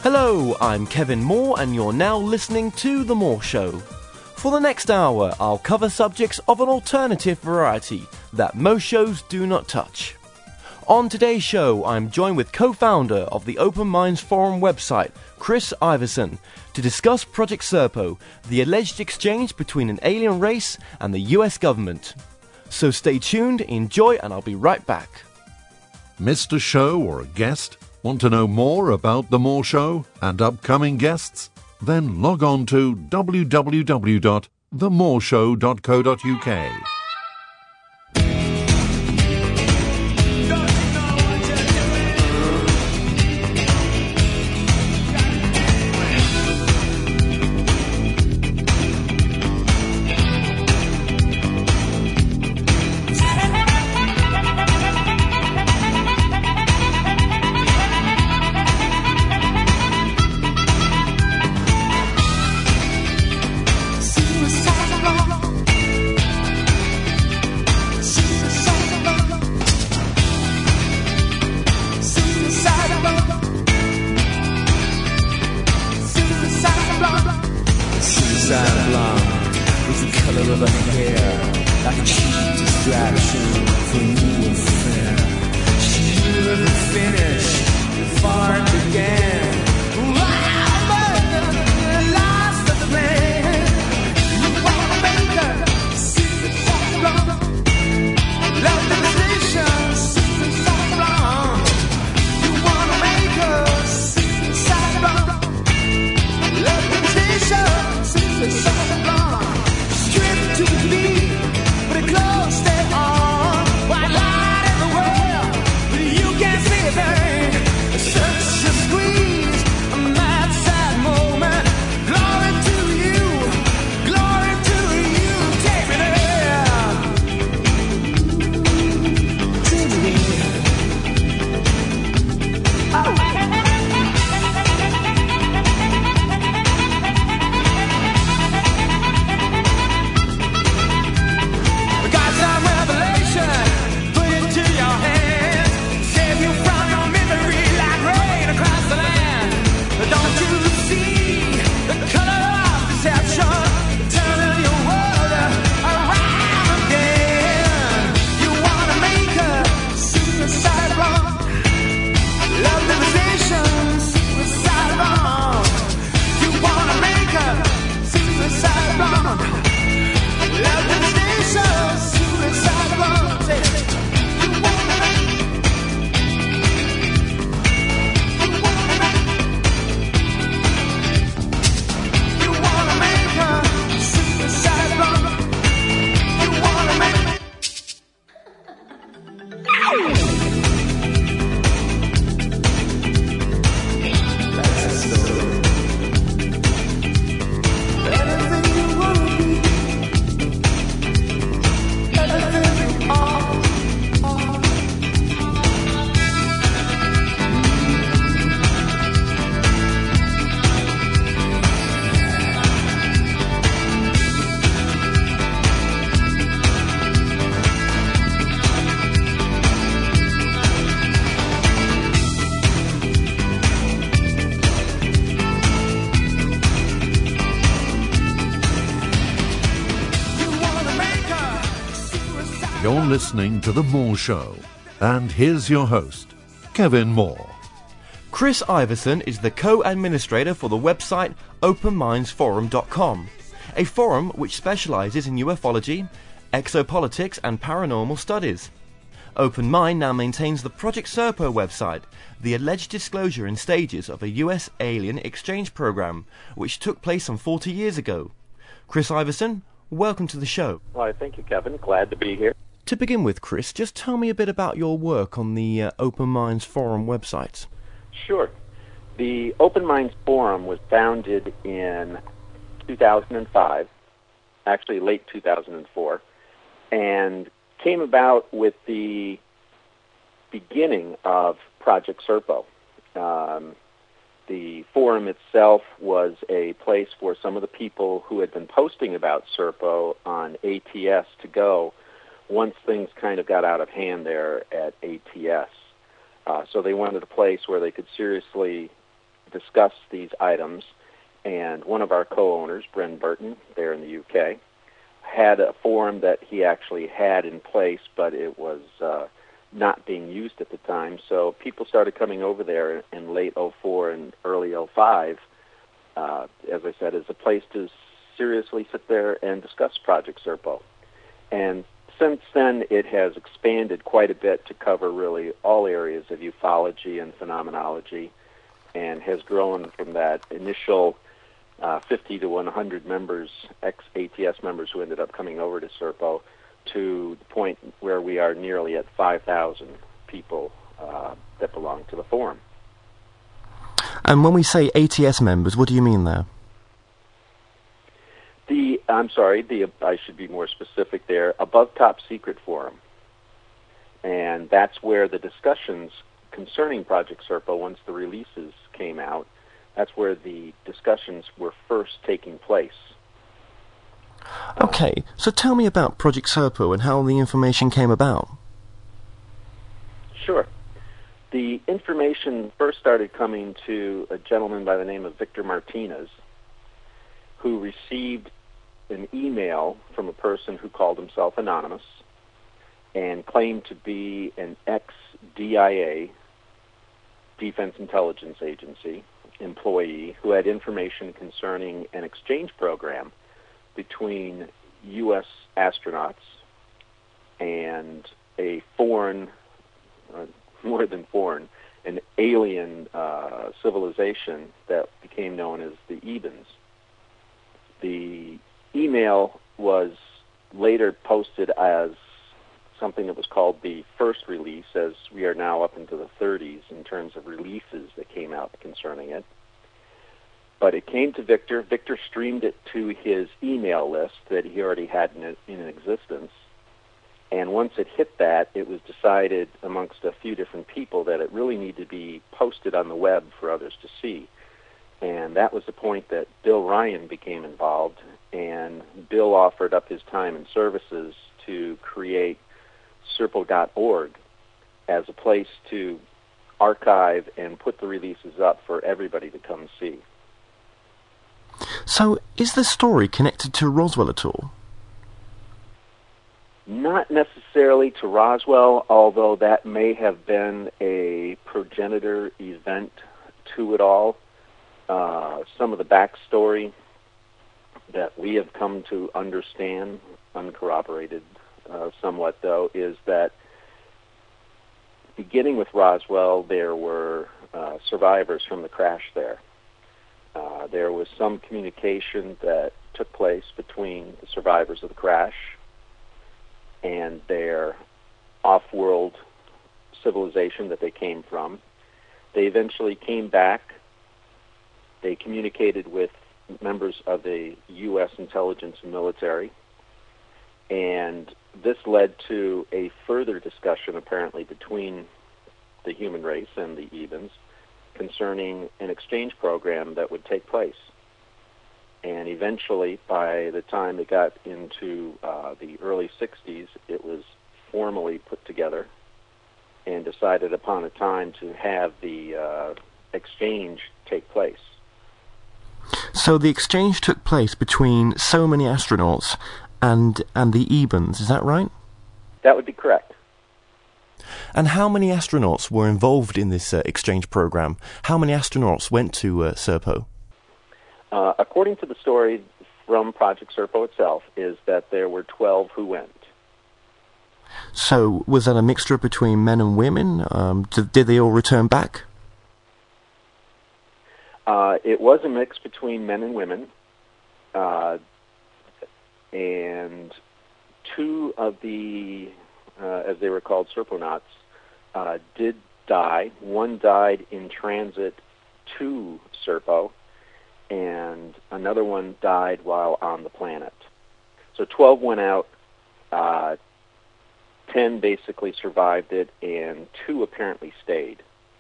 Hello, I'm Kevin Moore and you're now listening to The Moore Show. For the next hour, I'll cover subjects of an alternative variety that most shows do not touch. On today's show, I'm joined with co-founder of the Open Minds Forum website, Chris Iverson, to discuss Project Serpo, the alleged exchange between an alien race and the US government. So stay tuned, enjoy, and I'll be right back. Missed a show or a guest? Want to know more about The Moore Show and upcoming guests? Then log on to www.themoreshow.co.uk. You're listening to The Moore Show, and here's your host, Kevin Moore. Chris Iverson is the co-administrator for the website OpenMindsForum.com, a forum which specializes in ufology, exopolitics, and paranormal studies. Open Mind now maintains the Project Serpo website, the alleged disclosure in stages of a US alien exchange program, which took place some 40 years ago. Chris Iverson, welcome to the show. Well, thank you, Kevin. Glad to be here. To begin with, Chris, just tell me a bit about your work on the Open Minds Forum website. Sure. The Open Minds Forum was founded in 2005, actually late 2004, and came about with the beginning of Project Serpo. The forum itself was a place for some of the people who had been posting about Serpo on ATS to go once things kind of got out of hand there at ATS. So they wanted a place where they could seriously discuss these items. And one of our co-owners, Bren Burton, there in the UK, had a forum that he actually had in place, but it was not being used at the time. So people started coming over there in late '04 and early '05, as I said, as a place to seriously sit there and discuss Project Serpo. And since then, it has expanded quite a bit to cover really all areas of ufology and phenomenology, and has grown from that initial 50 to 100 members, ex-ATS members who ended up coming over to Serpo, to the point where we are nearly at 5,000 people that belong to the forum. And when we say ATS members, what do you mean there? I should be more specific there, Above Top Secret Forum. And that's where the discussions concerning Project Serpo, once the releases came out, that's where the discussions were first taking place. Okay, so tell me about Project Serpo and how the information came about. Sure. The information first started coming to a gentleman by the name of Victor Martinez, who received an email from a person who called himself Anonymous and claimed to be an ex-DIA, Defense Intelligence Agency, employee who had information concerning an exchange program between U.S. astronauts and a foreign, more than foreign, an alien civilization that became known as the Ebens. The email was later posted as something that was called the first release, as we are now up into the 30s in terms of releases that came out concerning it. But it came to Victor. Victor streamed it to his email list that he already had in existence. And once it hit that, it was decided amongst a few different people that it really needed to be posted on the web for others to see. And that was the point that Bill Ryan became involved, and Bill offered up his time and services to create Serpo.org as a place to archive and put the releases up for everybody to come see. So, is the story connected to Roswell at all? Not necessarily to Roswell, although that may have been a progenitor event to it all. Some of the backstory that we have come to understand, uncorroborated somewhat though, is that beginning with Roswell, there were survivors from the crash there. There was some communication that took place between the survivors of the crash and their off-world civilization that they came from. They eventually came back. They communicated with members of the U.S. intelligence and military, and this led to a further discussion, apparently, between the human race and the Ebens concerning an exchange program that would take place. And eventually, by the time it got into the early 60s, it was formally put together and decided upon a time to have the exchange take place. So the exchange took place between so many astronauts and the Ebens, is that right? That would be correct. And how many astronauts were involved in this exchange program? How many astronauts went to Serpo? According to the story from Project Serpo itself, is that there were 12 who went. So was that a mixture between men and women? Did they all return back? It was a mix between men and women, and two of the, as they were called, Serponauts, did die. One died in transit to Serpo, and another one died while on the planet. So 12 went out, 10 basically survived it, and 2 apparently stayed.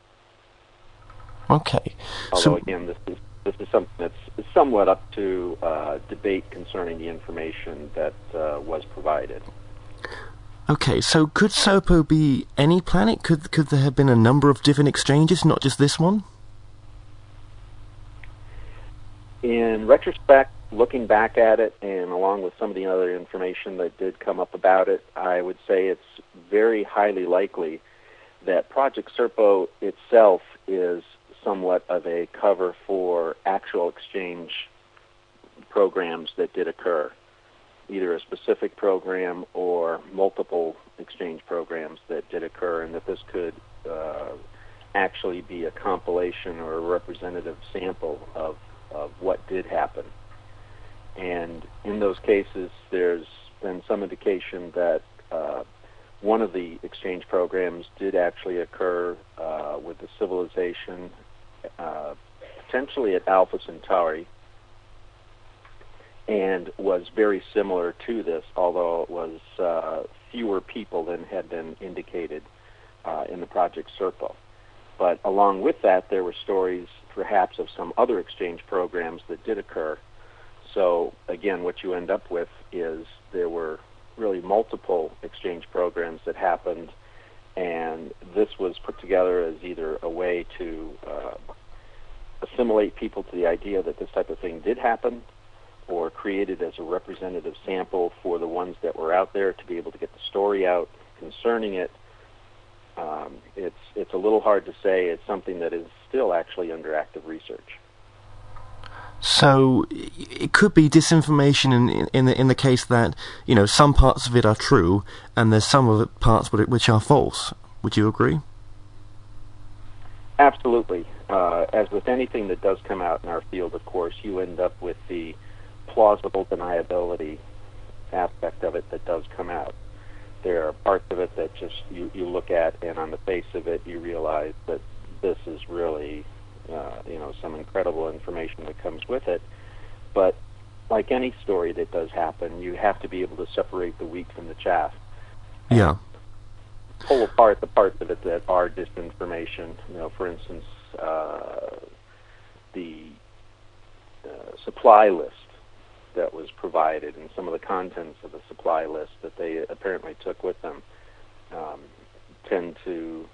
Okay. Although, again, this is something that's somewhat up to debate concerning the information that was provided. Okay, so could Serpo be any planet? Could there have been a number of different exchanges, not just this one? In retrospect, looking back at it, and along with some of the other information that did come up about it, I would say it's very highly likely that Project Serpo itself is somewhat of a cover for actual exchange programs that did occur, either a specific program or multiple exchange programs that did occur, and that this could actually be a compilation or a representative sample of what did happen. And in those cases, there's been some indication that one of the exchange programs did actually occur with the civilization, potentially at Alpha Centauri, and was very similar to this, although it was fewer people than had been indicated in the Project Serpo. But along with that, there were stories perhaps of some other exchange programs that did occur. So again, what you end up with is there were really multiple exchange programs that happened, and this was put together as either a way to assimilate people to the idea that this type of thing did happen, or created as a representative sample for the ones that were out there to be able to get the story out concerning it. It's a little hard to say. It's something that is still actually under active research. So it could be disinformation in the case that, you know, some parts of it are true and there's some of it parts which are false. Would you agree? Absolutely. As with anything that does come out in our field, of course, you end up with the plausible deniability aspect of it that does come out. There are parts of it that just you look at, and on the face of it, you realize that this is really, some incredible information that comes with it. But like any story that does happen, you have to be able to separate the wheat from the chaff. Yeah. Pull apart the parts of it that are disinformation. For instance, the supply list that was provided and some of the contents of the supply list that they apparently took with them tend to,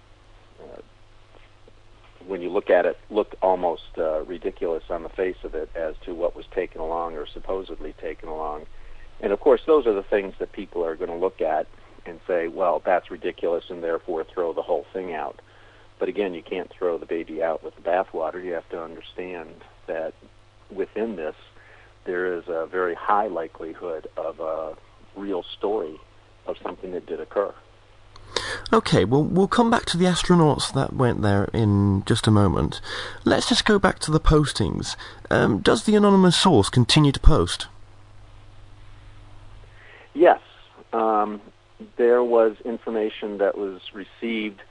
when you look at it, look almost ridiculous on the face of it as to what was taken along or supposedly taken along. And of course, those are the things that people are going to look at and say, well, that's ridiculous, and therefore throw the whole thing out. But again, you can't throw the baby out with the bathwater. You have to understand that within this, there is a very high likelihood of a real story of something that did occur. Okay, well, we'll come back to the astronauts that went there in just a moment. Let's just go back to the postings. Does the anonymous source continue to post? Yes. There was information that was received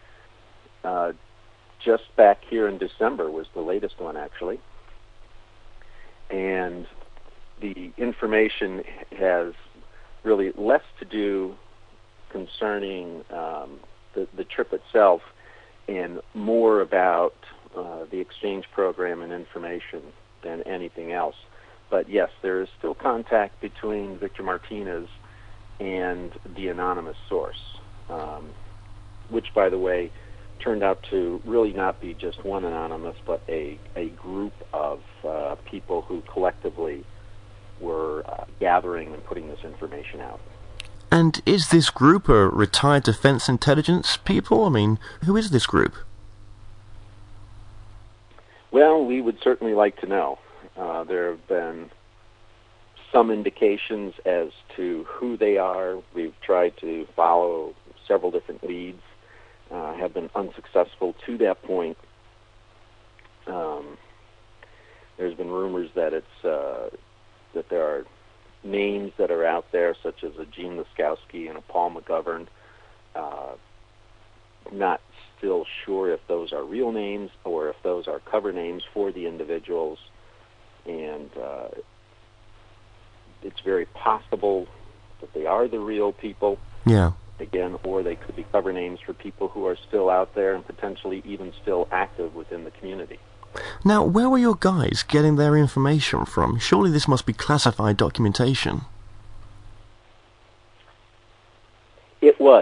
just back here in December, was the latest one, actually. And the information has really less to do concerning the trip itself and more about the exchange program and information than anything else. But yes, there is still contact between Victor Martinez and the anonymous source, which, by the way, turned out to really not be just one anonymous, but a group of people who collectively were gathering and putting this information out. And is this group a retired defense intelligence people? I mean, who is this group? Well, we would certainly like to know. There have been some indications as to who they are. We've tried to follow several different leads, have been unsuccessful to that point. There's been rumors that that there are names that are out there, such as a Gene Laskowski and a Paul McGovern. Not still sure if those are real names or if those are cover names for the individuals, and it's very possible that they are the real people. Yeah. Again, or they could be cover names for people who are still out there and potentially even still active within the community. Now, where were your guys getting their information from? Surely this must be classified documentation. It was.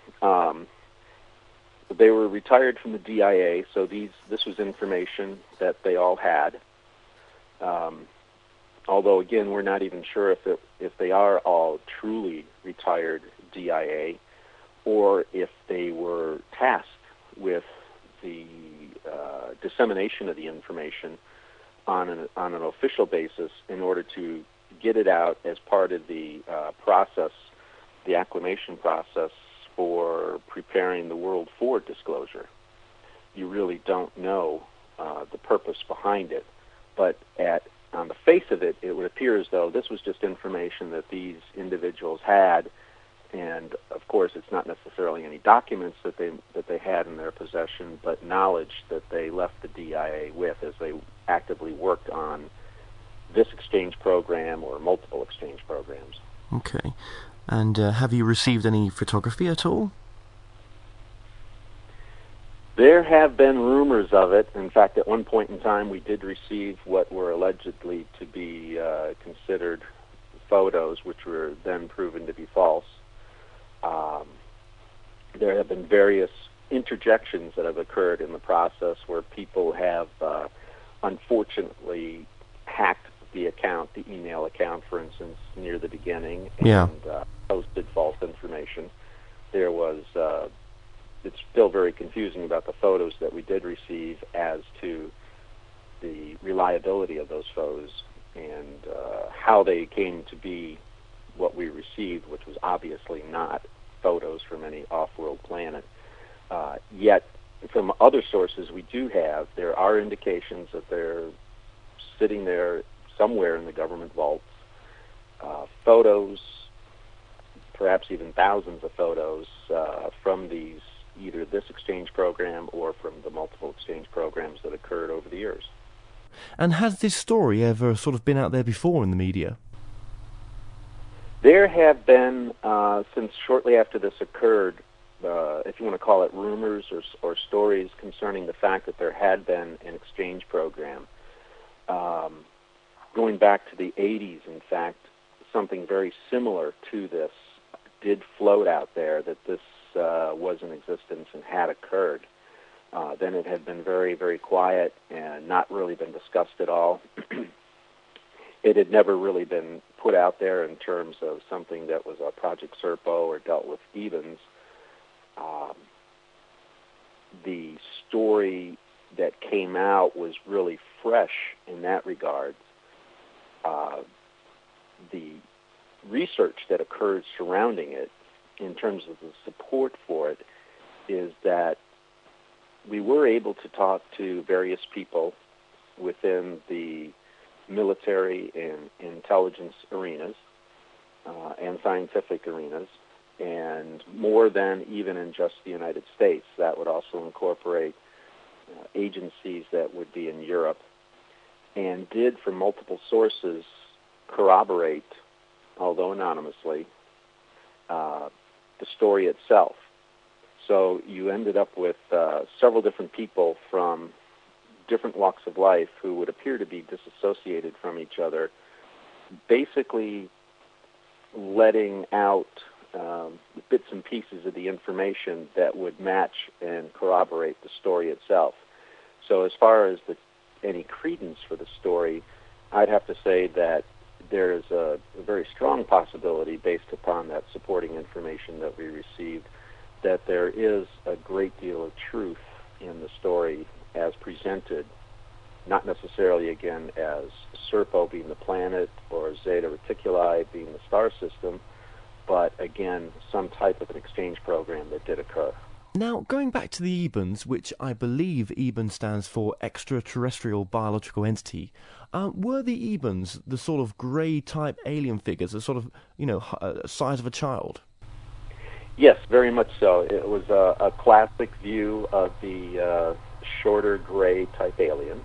They were retired from the DIA, so this was information that they all had. Although, again, we're not even sure if they are all truly retired DIA or if they were tasked with the dissemination of the information on an official basis in order to get it out as part of the process, the acclimation process for preparing the world for disclosure. You really don't know the purpose behind it, but on the face of it, it would appear as though this was just information that these individuals had, and of course, it's not necessarily any documents that they had in their possession, but knowledge that they left the DIA with as they actively worked on this exchange program or multiple exchange programs. Okay. And have you received any photography at all? There have been rumors of it. In fact, at one point in time, we did receive what were allegedly to be considered photos, which were then proven to be false. There have been various interjections that have occurred in the process where people have unfortunately hacked the account, the email account, for instance, near the beginning, and posted false information. There was it's still very confusing about the photos that we did receive as to the reliability of those photos and how they came to be what we received, which was obviously not photos from any off-world planet. Yet, from other sources we do have, there are indications that they're sitting there somewhere in the government vaults, photos, perhaps even thousands of photos from either this exchange program or from the multiple exchange programs that occurred over the years. And has this story ever sort of been out there before in the media? There have been, since shortly after this occurred, if you want to call it rumors or stories concerning the fact that there had been an exchange program. Going back to the 80s, in fact, something very similar to this did float out there, that this was in existence and had occurred. Then it had been very, very quiet and not really been discussed at all. It had never really been put out there in terms of something that was a Project Serpo or dealt with EBANS. The story that came out was really fresh in that regard. The research that occurred surrounding it, in terms of the support for it, is that we were able to talk to various people within the military and intelligence arenas and scientific arenas, and more than even in just the United States. That would also incorporate agencies that would be in Europe, and did, from multiple sources, corroborate, although anonymously, the story itself. So you ended up with several different people from different walks of life who would appear to be disassociated from each other, basically letting out bits and pieces of the information that would match and corroborate the story itself. So as far as any credence for the story, I'd have to say that there is a very strong possibility, based upon that supporting information that we received, that there is a great deal of truth in the story as presented, not necessarily, again, as Serpo being the planet or Zeta Reticuli being the star system, but, again, some type of an exchange program that did occur. Now, going back to the EBANS, which I believe EBAN stands for Extraterrestrial Biological Entity, were the EBANS the sort of grey-type alien figures, the sort of, size of a child? Yes, very much so. It was a classic view of the shorter gray-type alien,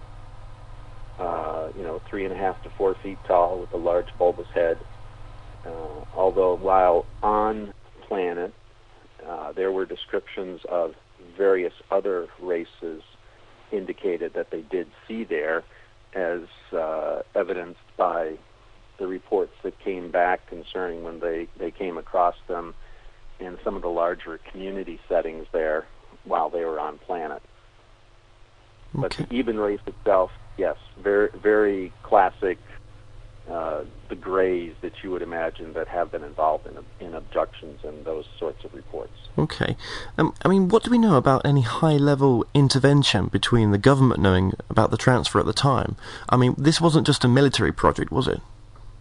3.5 to 4 feet tall with a large bulbous head. Although while on planet, there were descriptions of various other races indicated that they did see there, as evidenced by the reports that came back concerning when they came across them in some of the larger community settings there while they were on planet. But the Eben race itself, yes, very, very classic. The Greys that you would imagine that have been involved in abductions and those sorts of reports. Okay. I mean, what do we know about any high-level intervention between the government knowing about the transfer at the time? I mean, this wasn't just a military project, was it?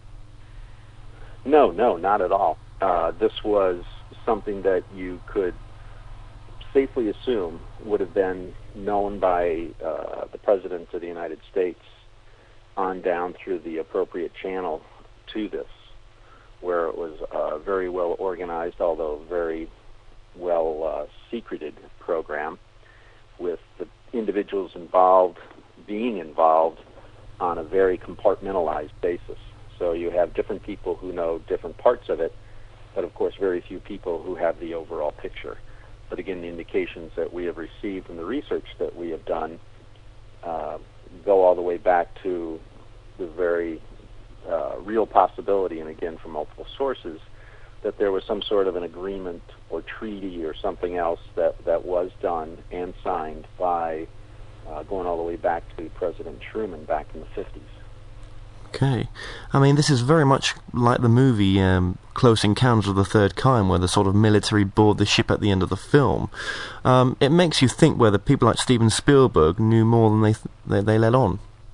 No, not at all. This was something that you could safely assume would have been known by the President of the United States on down through the appropriate channel to this, where it was a very well organized, although very well secreted program, with the individuals involved being involved on a very compartmentalized basis. So you have different people who know different parts of it, but of course very few people who have the overall picture. But again, the indications that we have received from the research that we have done go all the way back to the very real possibility, and again from multiple sources, that there was some sort of an agreement or treaty or something else that was done and signed by going all the way back to President Truman back in the 50s. Okay. I mean, this is very much like the movie Close Encounters of the Third Kind, where the sort of military board the ship at the end of the film. It makes you think whether people like Steven Spielberg knew more than they let on.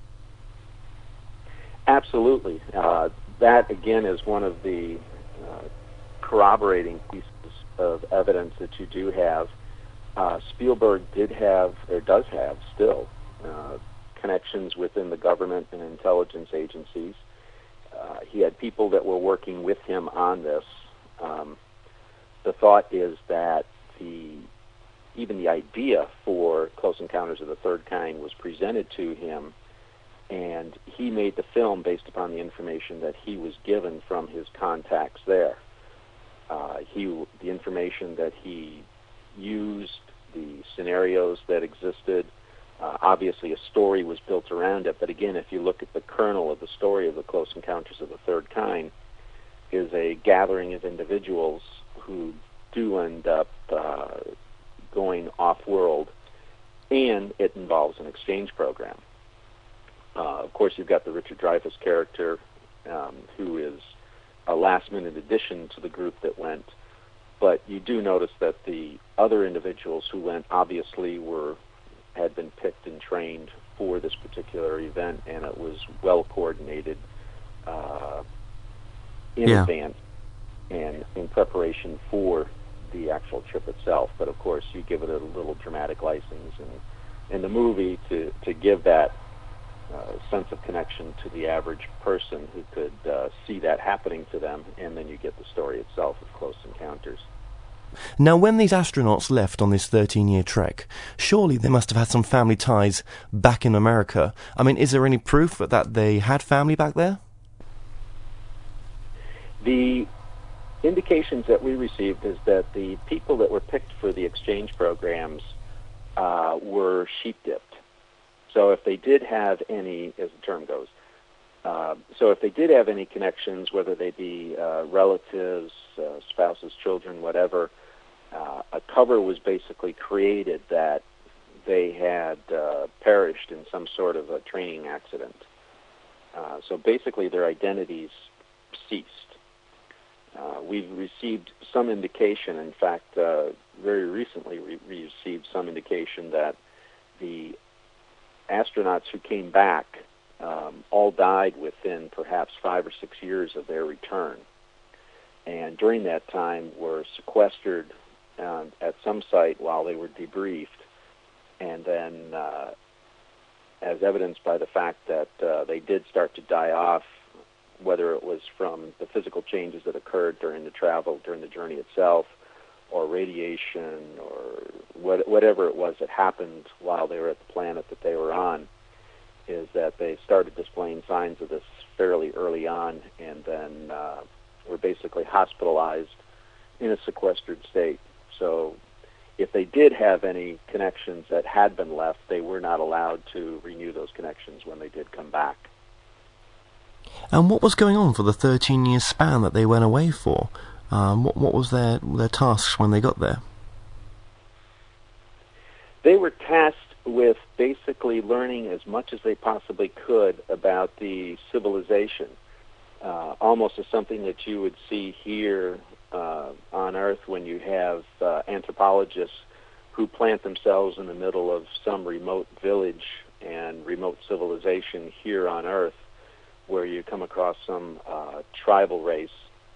Absolutely. That, again, is one of the corroborating pieces of evidence that you do have. Spielberg did have, or does have still, connections within the government and intelligence agencies. He had people that were working with him on this. The thought is that even the idea for Close Encounters of the Third Kind was presented to him, and he made the film based upon the information that he was given from his contacts there. The information that he used, the scenarios that existed, obviously a story was built around it, but again, if you look at the kernel of the story of the Close Encounters of the Third Kind, is a gathering of individuals who do end up going off-world, and it involves an exchange program. Of course, you've got the Richard Dreyfuss character, who is a last-minute addition to the group that went, but you do notice that the other individuals who went obviously had been picked and trained for this particular event, and it was well coordinated in advance and in preparation for the actual trip itself. But of course, you give it a little dramatic license in the movie to give that sense of connection to the average person who could see that happening to them, and then you get the story itself of Close Encounters. Now, when these astronauts left on this 13-year trek, surely they must have had some family ties back in America. I mean, is there any proof that they had family back there? The indications that we received is that the people that were picked for the exchange programs were sheep-dipped. So if they did have any, as the term goes, so if they did have any connections, whether they be relatives, spouses, children, whatever, a cover was basically created that they had perished in some sort of a training accident. So basically their identities ceased. We've received some indication, in fact, very recently we received some indication that the astronauts who came back all died within perhaps 5 or 6 years of their return, and during that time were sequestered at some site while they were debriefed, and then as evidenced by the fact that they did start to die off, whether it was from the physical changes that occurred during the travel, during the journey itself, or radiation, or whatever it was that happened while they were at the planet that they were on, is that they started displaying signs of this fairly early on, and then were basically hospitalized in a sequestered state. So if they did have any connections that had been left, they were not allowed to renew those connections when they did come back. And what was going on for the 13-year span that they went away for? What was their tasks when they got there? They were tasked with basically learning as much as they possibly could about the civilization, almost as something that you would see here on Earth when you have anthropologists who plant themselves in the middle of some remote village and remote civilization here on Earth, where you come across some tribal race,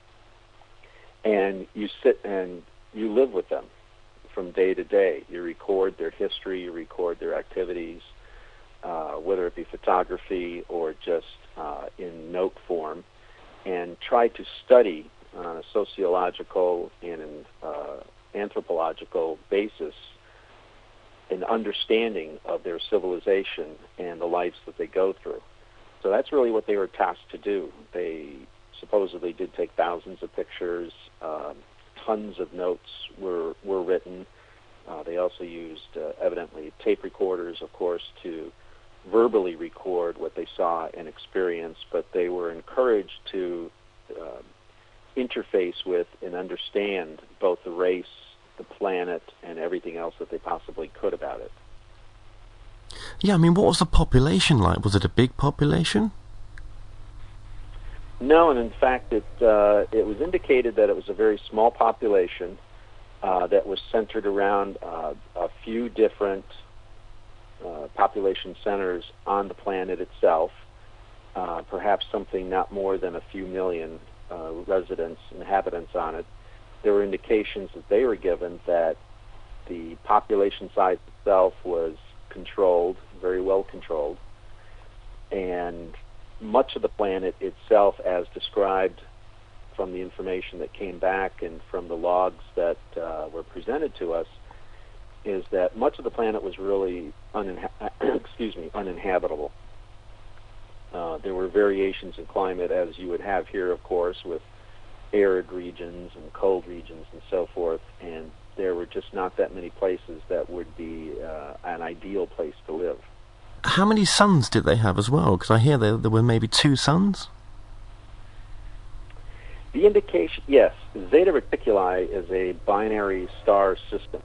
and you sit and you live with them from day to day. You record their history, you record their activities, whether it be photography or just in note form, and try to study on a sociological and an anthropological basis an understanding of their civilization and the lives that they go through. So that's really what they were tasked to do. They supposedly did take thousands of pictures. Tons of notes were written. They also used, evidently, tape recorders, of course, to verbally record what they saw and experienced, but they were encouraged to interface with and understand both the race, the planet, and everything else that they possibly could about it. Yeah, I mean, what was the population like? Was it a big population? No, and in fact, it was indicated that it was a very small population that was centered around a few different population centers on the planet itself, perhaps something not more than a few million inhabitants on it. There were indications that they were given that the population size itself was controlled, very well controlled, and much of the planet itself, as described from the information that came back and from the logs that were presented to us, is that much of the planet was really uninhabitable. There were variations in climate, as you would have here, of course, with arid regions and cold regions and so forth, and there were just not that many places that would be an ideal place to live. How many suns did they have as well? Because I hear there were maybe 2 suns? The indication, yes, Zeta Reticuli is a binary star system.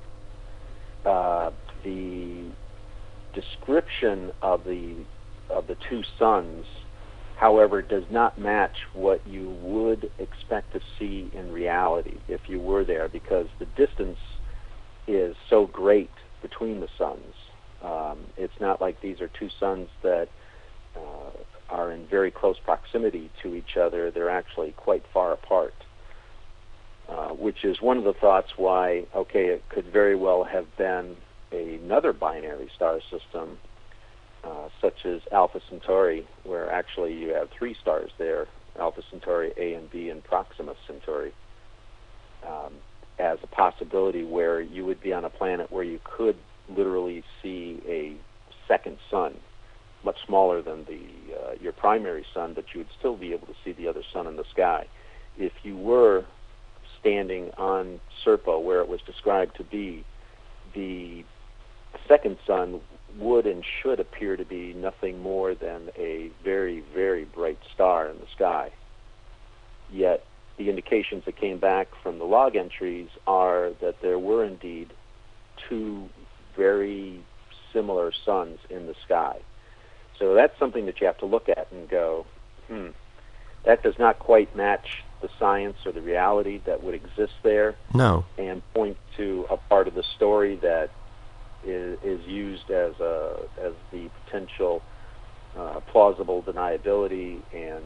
The description of the 2 suns, however, does not match what you would expect to see in reality if you were there, because the distance is so great between the suns. It's not like these are 2 suns that are in very close proximity to each other. They're actually quite far apart, which is one of the thoughts why, okay, it could very well have been another binary star system, such as Alpha Centauri, where actually you have 3 stars there, Alpha Centauri, A and B, and Proxima Centauri, as a possibility where you would be on a planet where you could literally see a second sun, much smaller than your primary sun, but you would still be able to see the other sun in the sky. If you were standing on Serpo, where it was described to be, the second sun would and should appear to be nothing more than a very, very bright star in the sky. Yet the indications that came back from the log entries are that there were indeed 2 very similar suns in the sky. So that's something that you have to look at and go, that does not quite match the science or the reality that would exist there. No. And point to a part of the story that is used as the potential plausible deniability, and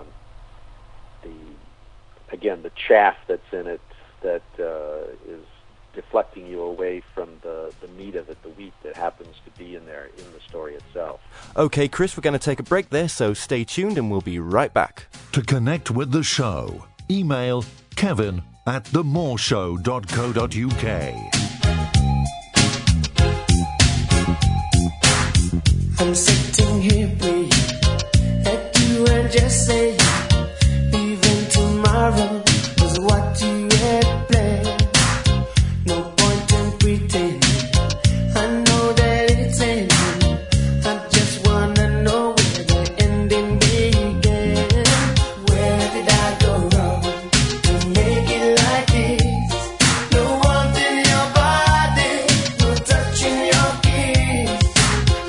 the chaff that's in it that is deflecting you away from the meat of it, the wheat that happens to be in there in the story itself. Okay, Chris, we're going to take a break there, so stay tuned and we'll be right back. To connect with the show, email kevin@themoreshow.co.uk. I'm sitting here praying that you and just say even tomorrow was what you had planned. No point in pretending. I know that it's ending. I just wanna know where the ending began. Where did I go wrong to make it like this? No warmth in your body, no touch in your kiss.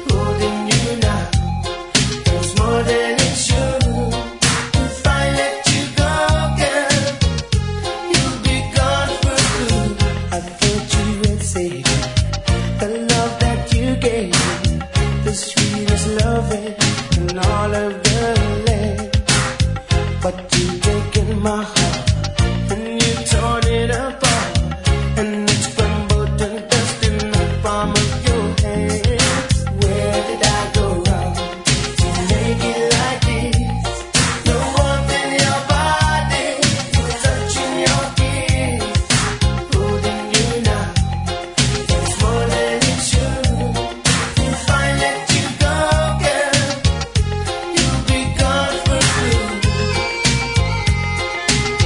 loving and all of the land. But you taken my heart and you torn it apart, and it's crumbled to dust in the palm of your hand. Where did I go wrong to make it like this? No warmth in your body, you were touching your kiss, holding you now. It's more than it should. If I let you go, girl, you'll be gone for good.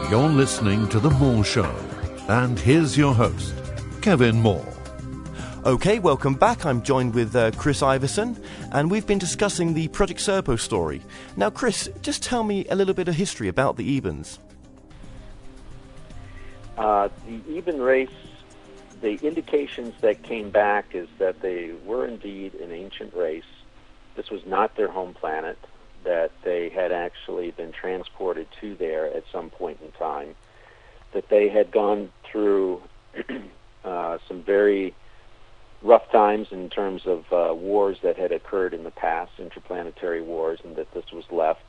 You're listening to The Moore Show. And here's your host, Kevin Moore. Okay, welcome back. I'm joined with Chris Iverson, and we've been discussing the Project Serpo story. Now, Chris, just tell me a little bit of history about the Ebens. The Eben race, the indications that came back is that they were indeed an ancient race. This was not their home planet, that they had actually been transported to there at some point in time, that they had gone through some very rough times in terms of wars that had occurred in the past, interplanetary wars, and that this was left,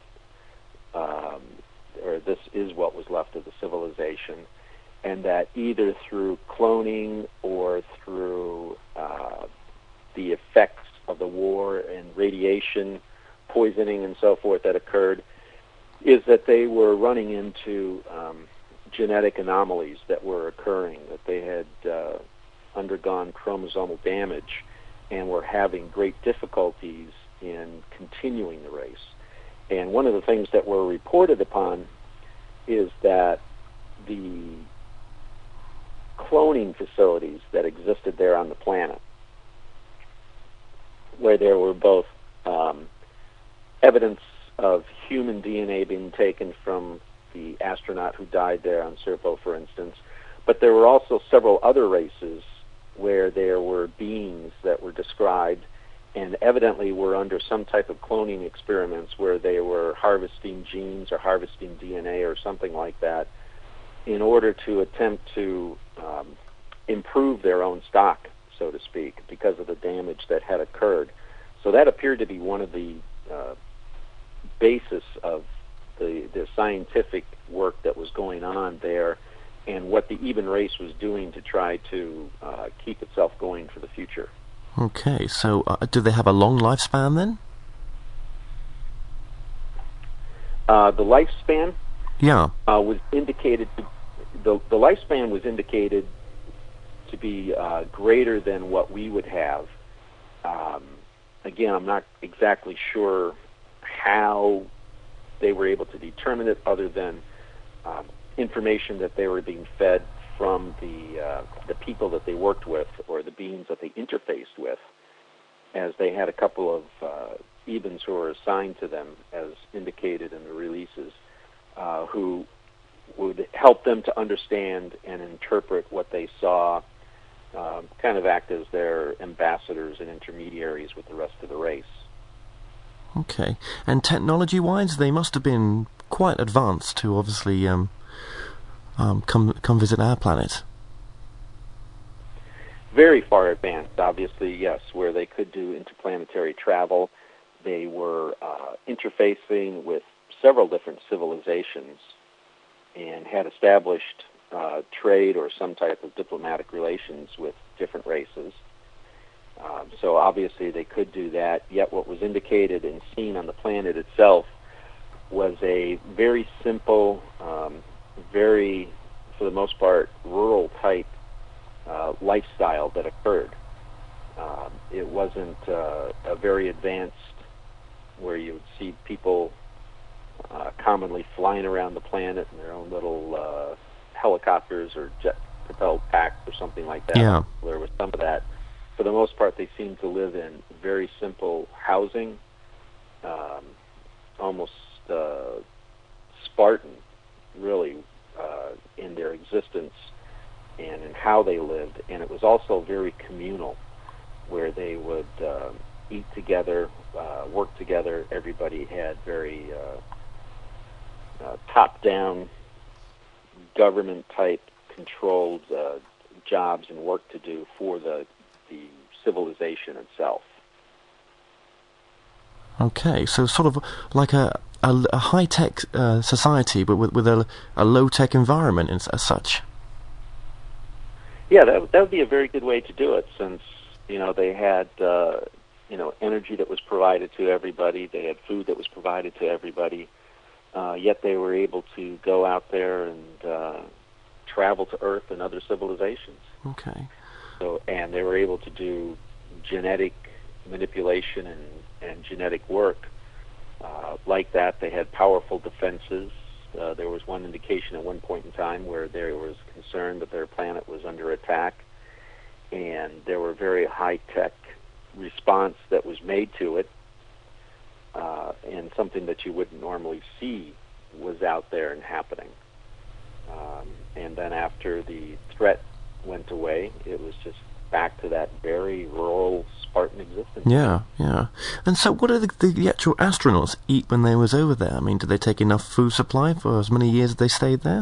or this is what was left of the civilization, and that either through cloning or through the effects of the war and radiation, poisoning and so forth that occurred, is that they were running into genetic anomalies that were occurring, that they had undergone chromosomal damage and were having great difficulties in continuing the race. And one of the things that were reported upon is that the cloning facilities that existed there on the planet, where there were both evidence of human DNA being taken from the astronaut who died there on Serpo, for instance, but there were also several other races where there were beings that were described and evidently were under some type of cloning experiments where they were harvesting genes or harvesting DNA or something like that in order to attempt to improve their own stock, so to speak, because of the damage that had occurred. So that appeared to be one of the basis of the scientific work that was going on there and what the Eben race was doing to try to keep itself going for the future. Okay, so do they have a long lifespan then? The lifespan was indicated to, the lifespan was indicated to be greater than what we would have. Again, I'm not exactly sure how they were able to determine it, other than information that they were being fed from the people that they worked with or the beings that they interfaced with, as they had a couple of Ebens who were assigned to them, as indicated in the releases, who would help them to understand and interpret what they saw, kind of act as their ambassadors and intermediaries with the rest of the race. Okay. And technology-wise, they must have been quite advanced to obviously come visit our planet. Very far advanced, obviously, yes, where they could do interplanetary travel. They were interfacing with several different civilizations and had established trade or some type of diplomatic relations with different races. So obviously they could do that, yet what was indicated and seen on the planet itself was a very simple, very, for the most part, rural type lifestyle that occurred. It wasn't a very advanced, where you would see people commonly flying around the planet in their own little helicopters or jet-propelled packs or something like that. Yeah. There was some of that. For the most part, they seemed to live in very simple housing, almost Spartan, really, in their existence and in how they lived. And it was also very communal, where they would eat together, work together. Everybody had very top-down, government-type controlled jobs and work to do for the civilization itself. Okay, so sort of like a high-tech society, but with a low-tech environment as such. Yeah, that would be a very good way to do it, since they had energy that was provided to everybody. They had food that was provided to everybody. Yet they were able to go out there and travel to Earth and other civilizations. Okay. So, and they were able to do genetic manipulation and genetic work like that. They had powerful defenses, There was one indication at one point in time where there was concern that their planet was under attack, and there were very high-tech response that was made to it, and something that you wouldn't normally see was out there and happening. And then after the threat went away, it was just back to that very rural Spartan existence. Yeah, yeah. And so what did the actual astronauts eat when they was over there? I mean, did they take enough food supply for as many years as they stayed there?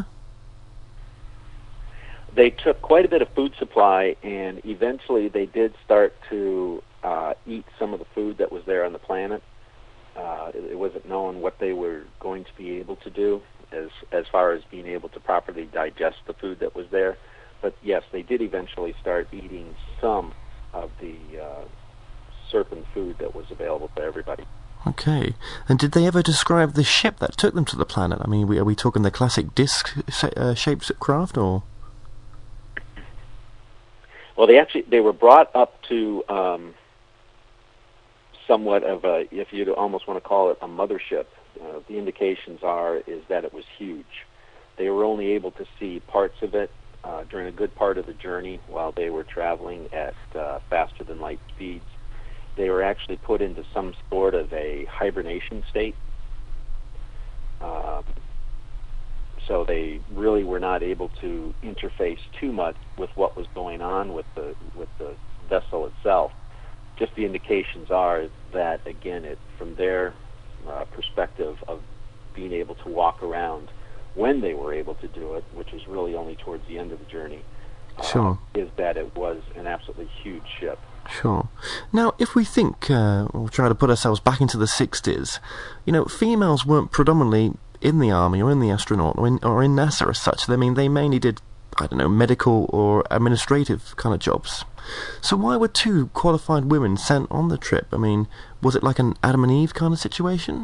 They took quite a bit of food supply, and eventually they did start to eat some of the food that was there on the planet. It wasn't known what they were going to be able to do as far as being able to properly digest the food that was there. But yes, they did eventually start eating some of the serpent food that was available to everybody. Okay. And did they ever describe the ship that took them to the planet? I mean, are we talking the classic disc-shaped craft, or...? Well, they were brought up to somewhat of a, if you'd almost want to call it a mothership. The indications is that it was huge. They were only able to see parts of it during a good part of the journey while they were traveling at faster than light speeds. They were actually put into some sort of a hibernation state. So they really were not able to interface too much with what was going on with the vessel itself. Just the indications are that, again, from their perspective of being able to walk around when they were able to do it, which was really only towards the end of the journey, Sure. Is that it was an absolutely huge ship. Sure. Now, if we think, we'll try to put ourselves back into the 60s, females weren't predominantly in the army or in the astronaut or in NASA as such. I mean, they mainly did, medical or administrative kind of jobs. So why were two qualified women sent on the trip? I mean, was it like an Adam and Eve kind of situation?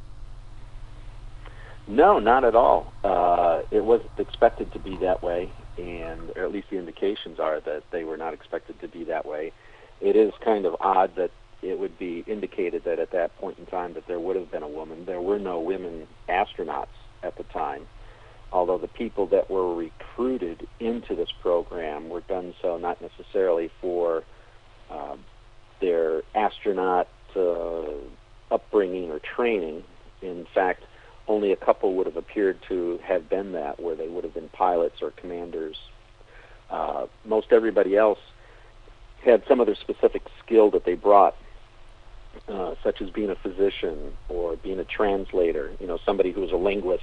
No, not at all. It wasn't expected to be that way, or at least the indications are that they were not expected to be that way. It is kind of odd that it would be indicated that at that point in time that there would have been a woman. There were no women astronauts at the time, although the people that were recruited into this program were done so not necessarily for their astronaut upbringing or training. In fact, only a couple would have appeared to have been that, where they would have been pilots or commanders. Most everybody else had some other specific skill that they brought, such as being a physician or being a translator, somebody who was a linguist.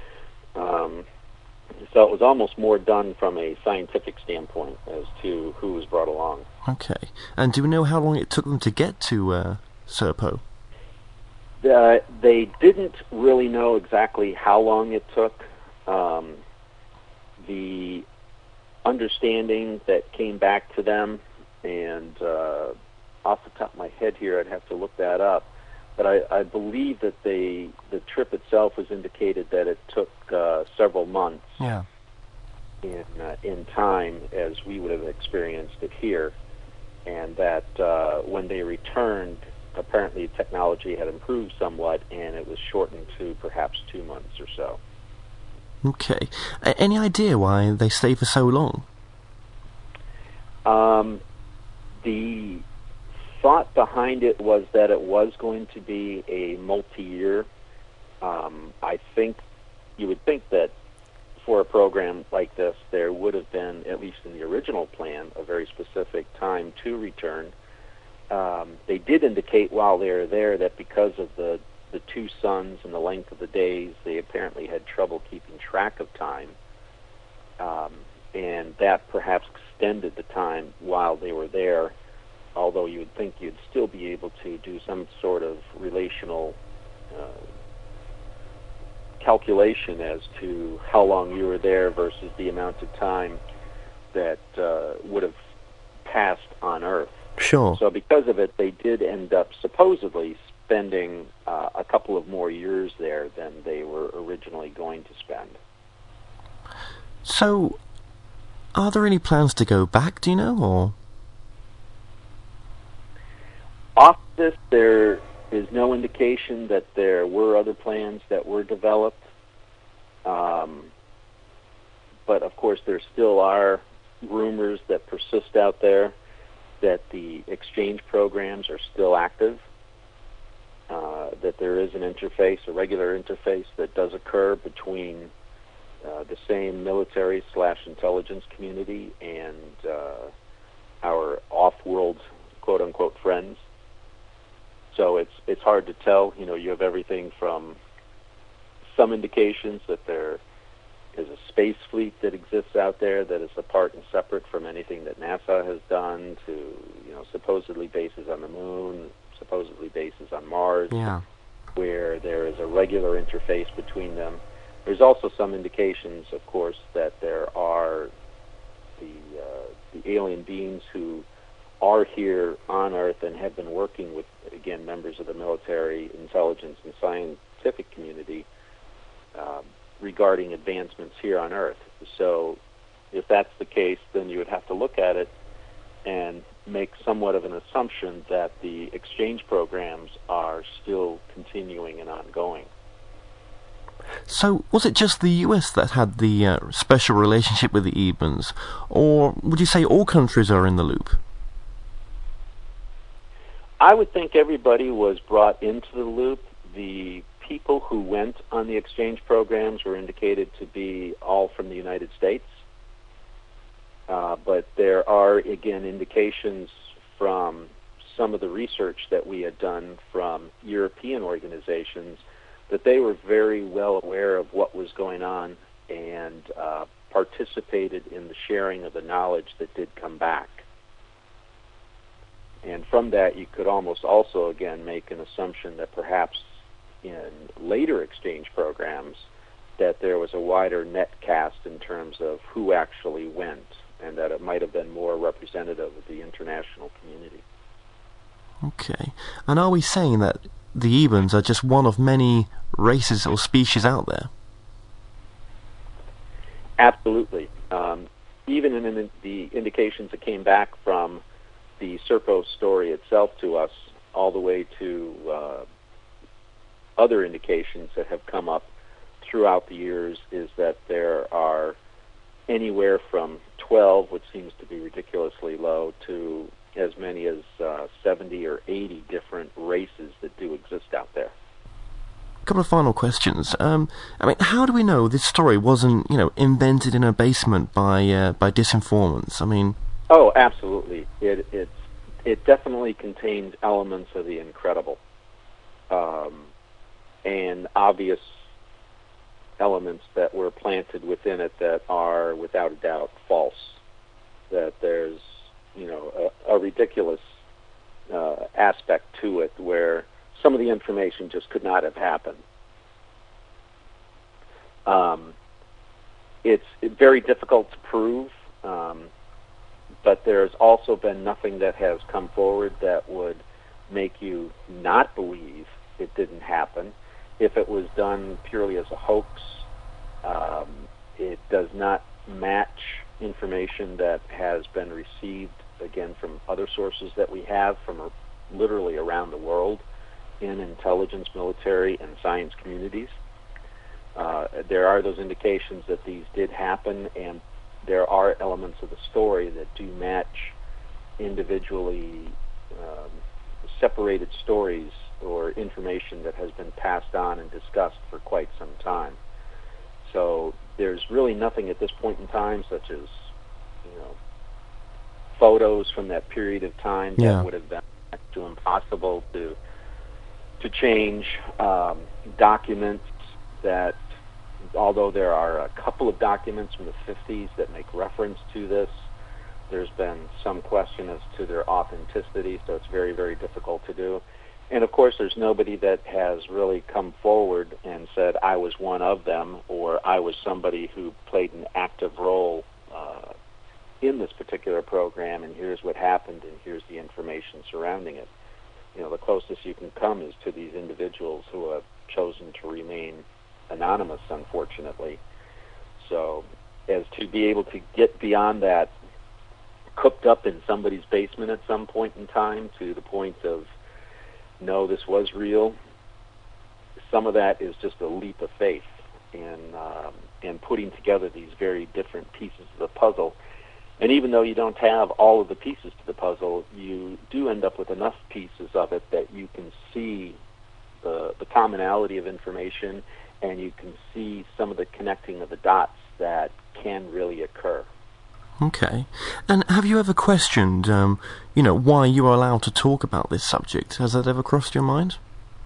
So it was almost more done from a scientific standpoint as to who was brought along. Okay. And do we know how long it took them to get to Serpo? They didn't really know exactly how long it took. The understanding that came back to them, and off the top of my head here, I'd have to look that up, but I believe that the trip itself was indicated that it took several months in time, as we would have experienced it here, and that when they returned, apparently technology had improved somewhat, and it was shortened to perhaps 2 months or so. Okay. Any idea why they stayed for so long? The thought behind it was that it was going to be a multi-year. I think you would think that for a program like this, there would have been, at least in the original plan, a very specific time to return. They did indicate while they were there that because of the two suns and the length of the days, they apparently had trouble keeping track of time, and that perhaps extended the time while they were there, although you would think you'd still be able to do some sort of relational calculation as to how long you were there versus the amount of time that would have passed on Earth. Sure. So because of it, they did end up supposedly spending a couple of more years there than they were originally going to spend. So, are there any plans to go back, do you know, or...? Off this, there is no indication that there were other plans that were developed. But of course, there still are rumors that persist out there that the exchange programs are still active, that there is an interface, a regular interface that does occur between the same military/intelligence community and our off-world, quote-unquote, friends. So it's hard to tell. You know, you have everything from some indications that there is a space fleet that exists out there that is apart and separate from anything that NASA has done, to, you know, supposedly bases on the moon, supposedly bases on Mars, where there is a regular interface between them. There's also some indications, of course, that there are the alien beings who are here on Earth and have been working with, again, members of the military, intelligence, and scientific community regarding advancements here on Earth. So if that's the case, then you would have to look at it and make somewhat of an assumption that the exchange programs are still continuing and ongoing. So, was it just the US that had the special relationship with the Ebens, or would you say all countries are in the loop? I would think everybody was brought into the loop. The people who went on the exchange programs were indicated to be all from the United States. But there are, again, indications from some of the research that we had done from European organizations that they were very well aware of what was going on and participated in the sharing of the knowledge that did come back. And from that, you could almost also, again, make an assumption that perhaps in later exchange programs that there was a wider net cast in terms of who actually went, and that it might have been more representative of the international community. Okay. And are we saying that the Ebens are just one of many races or species out there? Absolutely. Even in the indications that came back from the Serpo story itself to us, all the way to other indications that have come up throughout the years, is that there are anywhere from 12, which seems to be ridiculously low, to as many as 70 or 80 different races that do exist out there. A couple of final questions. I mean, how do we know this story wasn't, invented in a basement by disinformants? I mean, oh, absolutely. It definitely contains elements of the incredible, and obvious elements that were planted within it that are, without a doubt, false. That there's, a ridiculous aspect to it where some of the information just could not have happened. It's very difficult to prove, but there's also been nothing that has come forward that would make you not believe it didn't happen. If it was done purely as a hoax, it does not match information that has been received, again, from other sources that we have from literally around the world in intelligence, military, and science communities. There are those indications that these did happen, and there are elements of the story that do match individually separated stories or information that has been passed on and discussed for quite some time. So there's really nothing at this point in time, such as photos from that period of time that would have been next to impossible to change. Documents that, although there are a couple of documents from the 50s that make reference to this, there's been some question as to their authenticity, so it's very, very difficult to do. And, of course, there's nobody that has really come forward and said, I was one of them, or I was somebody who played an active role in this particular program, and here's what happened, and here's the information surrounding it. The closest you can come is to these individuals who have chosen to remain anonymous, unfortunately. So as to be able to get beyond that, cooked up in somebody's basement at some point in time, to the point of, no, this was real, some of that is just a leap of faith. in putting together these very different pieces of the puzzle. And even though you don't have all of the pieces to the puzzle, you do end up with enough pieces of it that you can see the commonality of information, and you can see some of the connecting of the dots that can really occur. Okay. And have you ever questioned, why you are allowed to talk about this subject? Has that ever crossed your mind?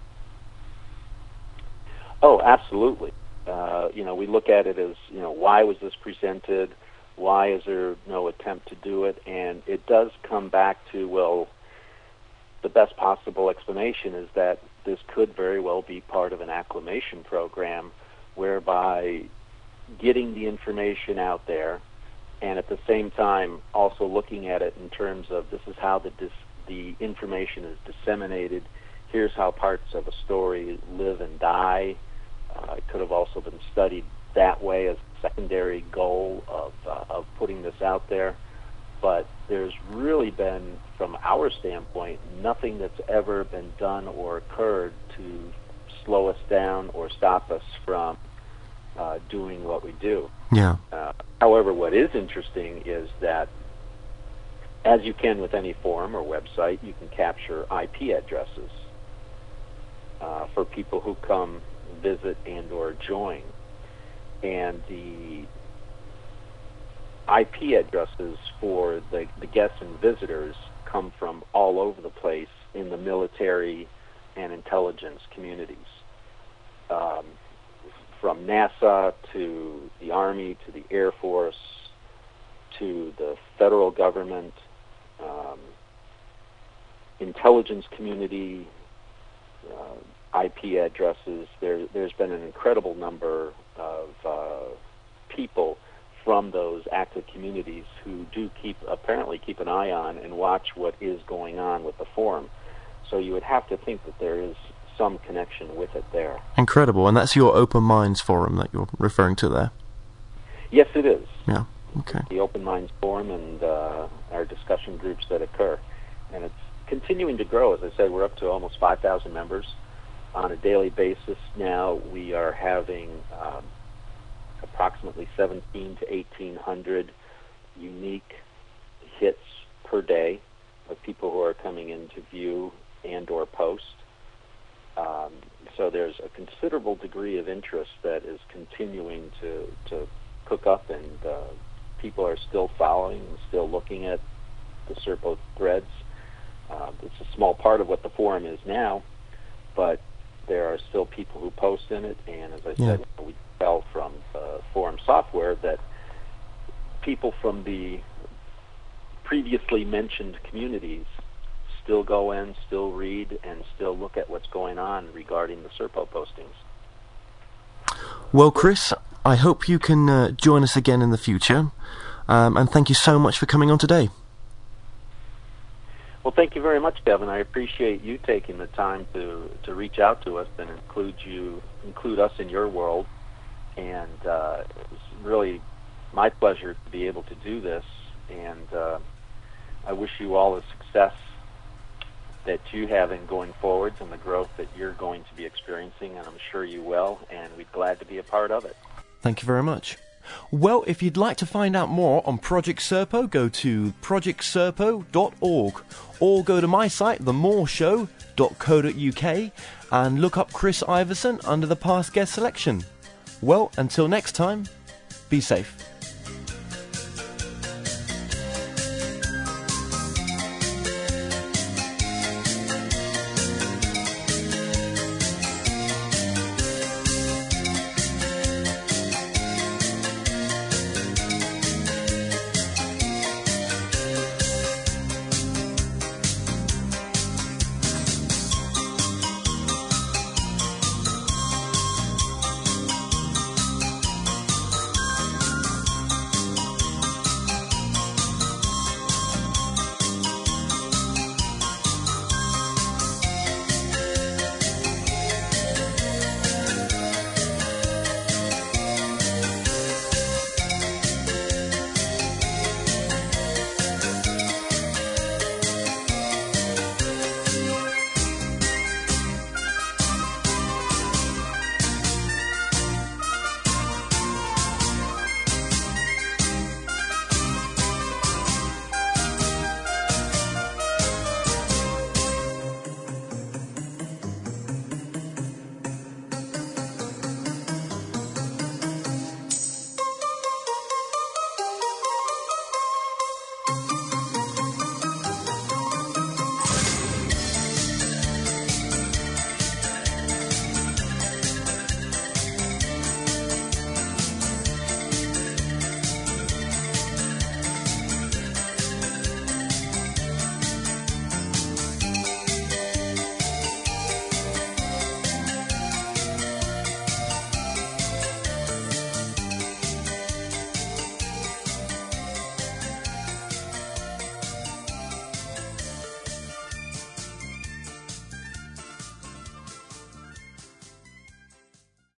Oh, absolutely. We look at it as, why was this presented? Why is there no attempt to do it? And it does come back to, well, the best possible explanation is that this could very well be part of an acclimation program whereby getting the information out there and at the same time also looking at it in terms of this is how the information is disseminated. Here's how parts of a story live and die. It could have also been studied that way as a secondary goal of putting this out there. But there's really been, from our standpoint, nothing that's ever been done or occurred to slow us down or stop us from doing what we do. Yeah. However, what is interesting is that, as you can with any forum or website, you can capture IP addresses for people who come visit and or join. And the IP addresses for the guests and visitors come from all over the place in the military and intelligence communities. From NASA to the Army to the Air Force to the federal government, intelligence community, IP addresses. There's been an incredible number of people from those active communities who do apparently keep an eye on and watch what is going on with the forum. So you would have to think that there is some connection with it there. Incredible. And that's your Open Minds forum that you're referring to there? Yes, it is. Yeah, okay. The Open Minds forum and our discussion groups that occur. And it's continuing to grow. As I said, we're up to almost 5,000 members on a daily basis now. We are having approximately 17 to 1,800 unique hits per day of people who are coming in to view and or post. So there's a considerable degree of interest that is continuing to cook up, and people are still following and still looking at the Serpo threads. It's a small part of what the forum is now, but there are still people who post in it, and as I said, we tell from forum software that people from the previously mentioned communities still go in, still read, and still look at what's going on regarding the Serpo postings. Well, Chris, I hope you can join us again in the future, and thank you so much for coming on today. Well, thank you very much, Kevin. I appreciate you taking the time to reach out to us and include us in your world. And it was really my pleasure to be able to do this. And I wish you all the success that you have in going forwards and the growth that you're going to be experiencing, and I'm sure you will, and we're glad to be a part of it. Thank you very much. Well, if you'd like to find out more on Project Serpo, go to projectserpo.org or go to my site, themoreshow.co.uk, and look up Chris Iverson under the past guest selection. Well, until next time, be safe.